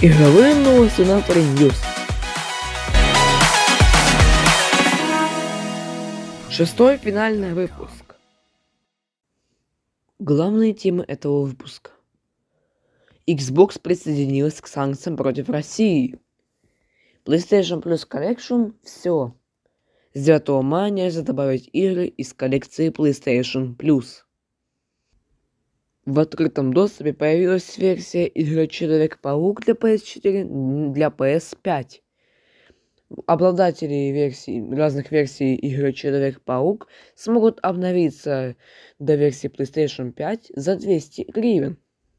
Игровые новости на News. Шестой финальный выпуск. Главные темы этого выпуска. Xbox присоединилась к санкциям против России. PlayStation Plus Collection – все. С 9 мая нельзя добавить игры из коллекции PlayStation Plus. В открытом доступе появилась версия игры Человек-паук для PS4 для PS5. Обладатели разных версий игры Человек-паук смогут обновиться до версии PlayStation 5 за 200 гривен.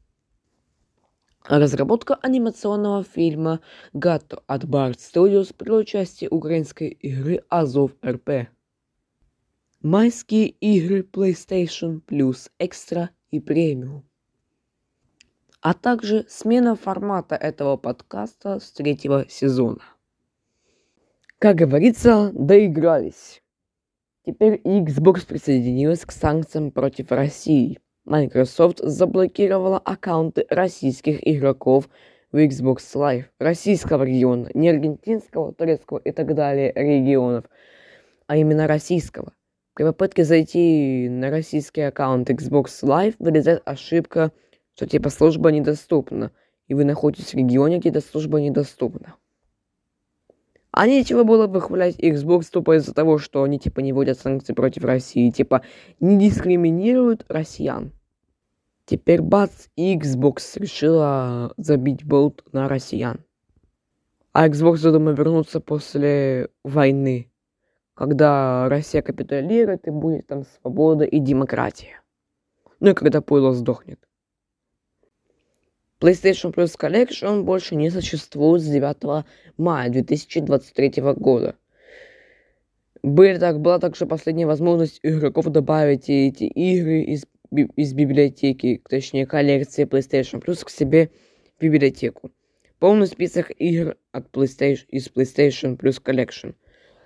Разработка анимационного фильма «Гато» от Bard Studios при участии украинской игры Азов РП. Майские игры PlayStation Plus Extra и Премиум. А также смена формата этого подкаста с 3-го сезона. Как говорится, доигрались. Теперь Xbox присоединилась к санкциям против России. Microsoft заблокировала аккаунты российских игроков в Xbox Live российского региона, не аргентинского, турецкого и так далее регионов, а именно российского. При попытке зайти на российский аккаунт Xbox Live вылезает ошибка, что типа служба недоступна, и вы находитесь в регионе, где эта служба недоступна. А нечего было выхвалять Xbox тупо из-за того, что они типа не вводят санкции против России, типа не дискриминируют россиян. Теперь бац, Xbox решила забить болт на россиян. А Xbox задумал вернуться после войны, когда Россия капитулирует и будет там свобода и демократия. Ну и когда пойло сдохнет. PlayStation Plus Collection больше не существует с 9 мая 2023 года. Была также последняя возможность игроков добавить эти игры из библиотеки, точнее коллекции PlayStation Plus к себе в библиотеку. Полный список игр из PlayStation Plus Collection.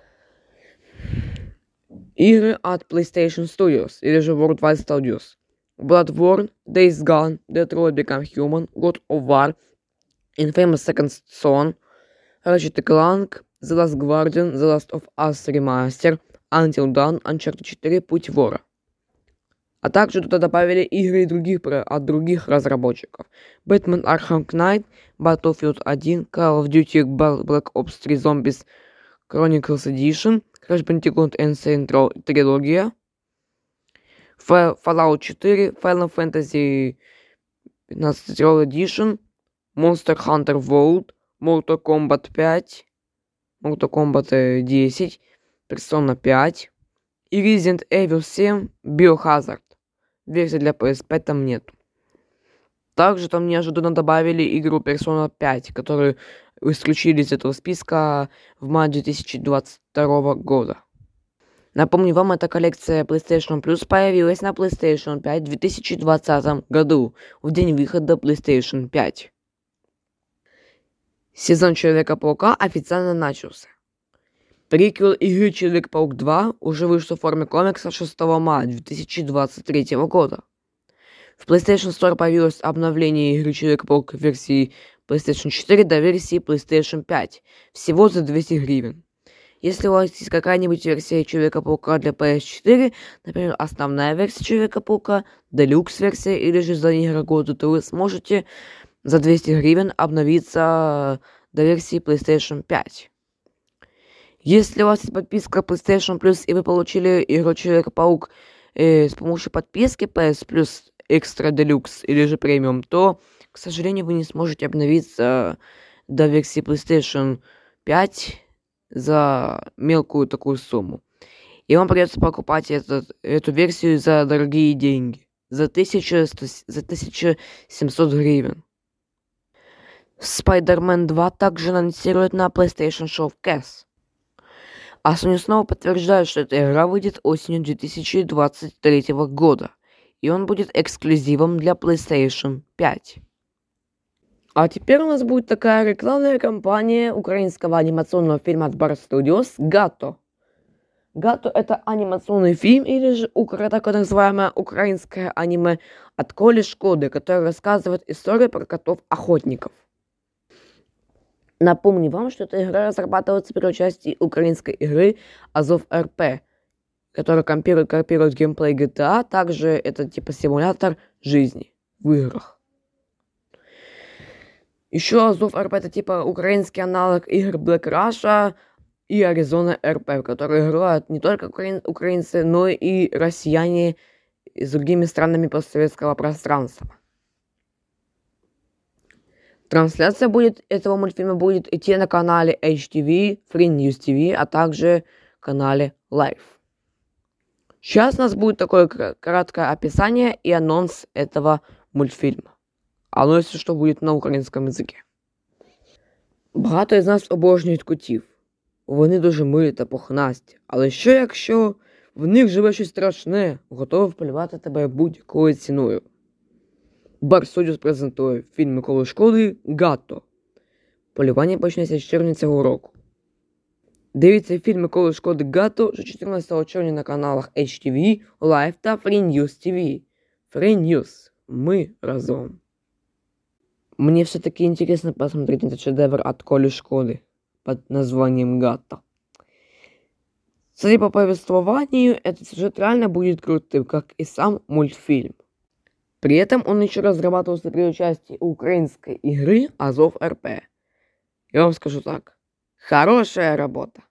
Игры от PlayStation Studios, или же Worldwide Studios. Bloodborne, Days Gone, Detroit Become Human, God of War, Infamous Second Son, Ratchet & Clank, The Last Guardian, The Last of Us Remaster, Until Dawn, Uncharted 4, Путь вора. А также туда добавили игры от других разработчиков. Batman Arkham Knight, Battlefield 1, Call of Duty Black Ops 3 Zombies Chronicles Edition, Crash Bandicoot Insane Трилогия, Fallout 4, Final Fantasy 15 Roll Edition, Monster Hunter World, Mortal Kombat 5, Mortal Kombat 10, Persona 5 и Resident Evil 7 Biohazard. Версии для PS5 там нет. Также там неожиданно добавили игру Persona 5, которую исключили из этого списка в мае 2022 года. Напомню вам, эта коллекция PlayStation Plus появилась на PlayStation 5 в 2020 году, в день выхода PlayStation 5. Сезон Человека-паука официально начался. Приквел игры Человек-паук 2 уже вышел в форме комикса 6 мая 2023 года. В PlayStation Store появилось обновление игры Человек-паук версии PlayStation 4 до версии PlayStation 5, всего за 200 гривен. Если у вас есть какая-нибудь версия Человека-паука для PS4, например, основная версия Человека-паука, Deluxe версия или же за игры года, то вы сможете за 200 гривен обновиться до версии PlayStation 5. Если у вас есть подписка PlayStation Plus и вы получили игру Человек-паук с помощью подписки PS Plus Extra Deluxe или же Premium, то, к сожалению, вы не сможете обновиться до версии PlayStation 5 за мелкую такую сумму. И вам придется покупать эту версию за дорогие деньги. За 1700 гривен. Spider-Man 2 также анонсируют на PlayStation Showcase. А Sony снова подтверждает, что эта игра выйдет осенью 2023 года. И он будет эксклюзивом для PlayStation 5. А теперь у нас будет такая рекламная кампания украинского анимационного фильма от Bard Studios «Гато». «Гато» — это анимационный фильм, или же так называемое украинское аниме от Коли Шкоды, которое рассказывает историю про котов-охотников. Напомню вам, что эта игра разрабатывается при участии украинской игры Азов РП, которая копирует геймплей GTA. Также это типа симулятор жизни в играх. Еще Азов РП это типа украинский аналог игр Black Russia и Arizona РП, в которые играют не только украинцы, но и россияне с другими странами постсоветского пространства. Трансляция этого мультфильма будет идти на канале HTV, Free News TV, а также канале Live. Сейчас у нас будет такое краткое описание и анонс этого мультфільму. Оно, если что, будет на українському язикі. Багато із нас обожнюють котів. Вони дуже милі та пухнасті. Але що якщо в них живе щось страшне, готове вполювати тебе будь-якою ціною? Бар Studios презентує фільм Миколи Шкоди «Гатто». Полювання почнеться з червня цього року. Дивіться фільм Миколи Шкоди «Гатто» вже 14 червня на каналах HTV, Live та Free News TV. Free News. Мы разом. Мне все-таки интересно посмотреть этот шедевр от Коли Шкоды под названием «Гатто». Судя по повествованию, этот сюжет реально будет крутым, как и сам мультфильм. При этом он еще разрабатывался при участии украинской игры Азов РП. Я вам скажу так. Хорошая работа.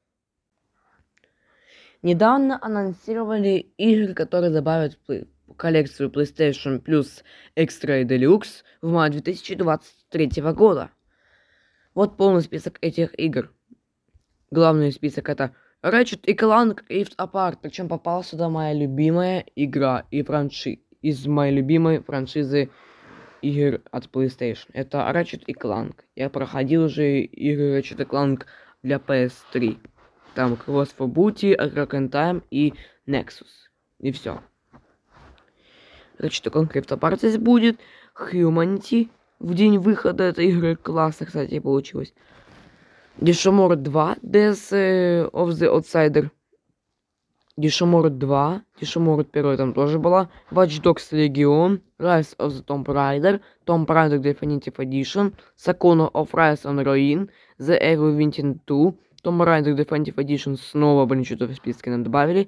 Недавно анонсировали игры, которые добавят в коллекцию PlayStation Plus Extra и Deluxe в мае 2023 года. Вот полный список этих игр. Главный список это Ratchet & Clank Rift Apart. Причем попала сюда моя любимая игра из моей любимой франшизы игр от PlayStation. Это Ratchet & Clank. Я проходил уже игры Ratchet & Clank для PS3. Там Cross for Booty, A Crack in Time и Nexus. И все. Ratchet & Clank Rift Apart здесь будет. Humanity в день выхода этой игры. Классно, кстати, получилось. Dishonored 2 Death of the Outsider. Dishonored 2, Dishonored 1 там тоже была, Watch Dogs Legion, Rise of the Tomb Raider, Tomb Raider Definitive Edition, Sakuna of Rise on Ruin, The Evil Within 2, Tomb Raider Definitive Edition снова, блин, что-то в списке нам добавили,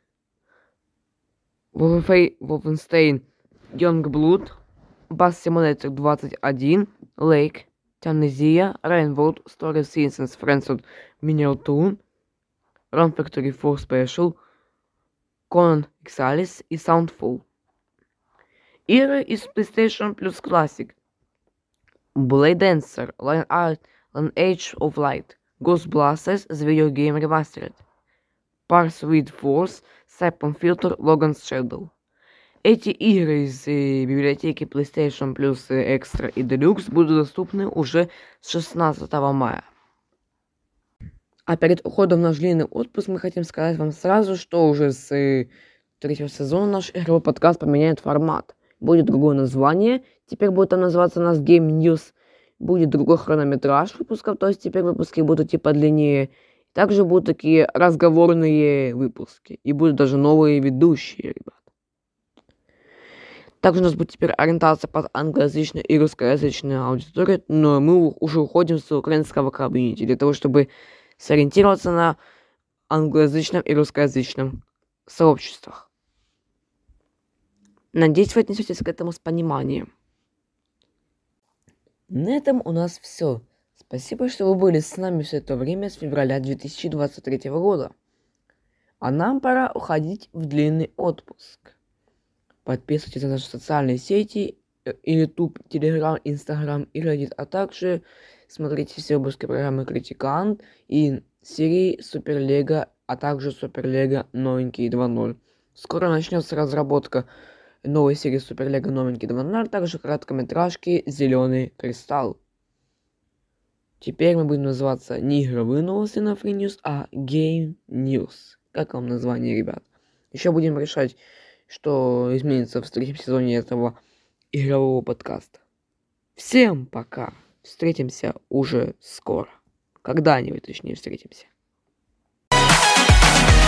Wolfenstein Youngblood, Bus Simulator 21, Lake, Amnesia, Rainbow, Story Seasons, Friends of Mineral Toon, Run Factory 4 Special, Conan Exiles и Soundfall. Игры из PlayStation Plus Classic. Blade Dancer, Age of Light, Ghost Blasters, The Video Game Remastered, Parsword Force, Siphon Filter, Logan's Shadow. Эти игры из библиотеки PlayStation Plus Extra и Deluxe будут доступны уже с 16 мая. А перед уходом в наш длинный отпуск мы хотим сказать вам сразу, что уже с третьего сезона наш игровой подкаст поменяет формат. Будет другое название, теперь будет там называться у нас Game News. Будет другой хронометраж выпусков, то есть теперь выпуски будут идти подлиннее. Также будут такие разговорные выпуски. И будут даже новые ведущие, ребят. Также у нас будет теперь ориентация под англоязычную и русскоязычную аудиторию, но мы уже уходим с украинского комьюнити для того, чтобы сориентироваться на англоязычном и русскоязычном сообществах. Надеюсь, вы отнесетесь к этому с пониманием. На этом у нас все. Спасибо, что вы были с нами все это время с февраля 2023 года. А нам пора уходить в длинный отпуск. Подписывайтесь на наши социальные сети, YouTube, Telegram, Instagram и Reddit, а также смотрите все выпуски программы Критикант и серии Суперлего, а также Суперлего Новенький 2.0. Скоро начнется разработка новой серии Суперлего Новенький 2.0, а также короткометражки Зеленый Кристалл. Теперь мы будем называться не игровые новости на Free News, а Game News. Как вам название, ребят? Еще будем решать, что изменится в третьем сезоне этого игрового подкаста. Всем пока! Встретимся уже скоро. Когда-нибудь, точнее, встретимся.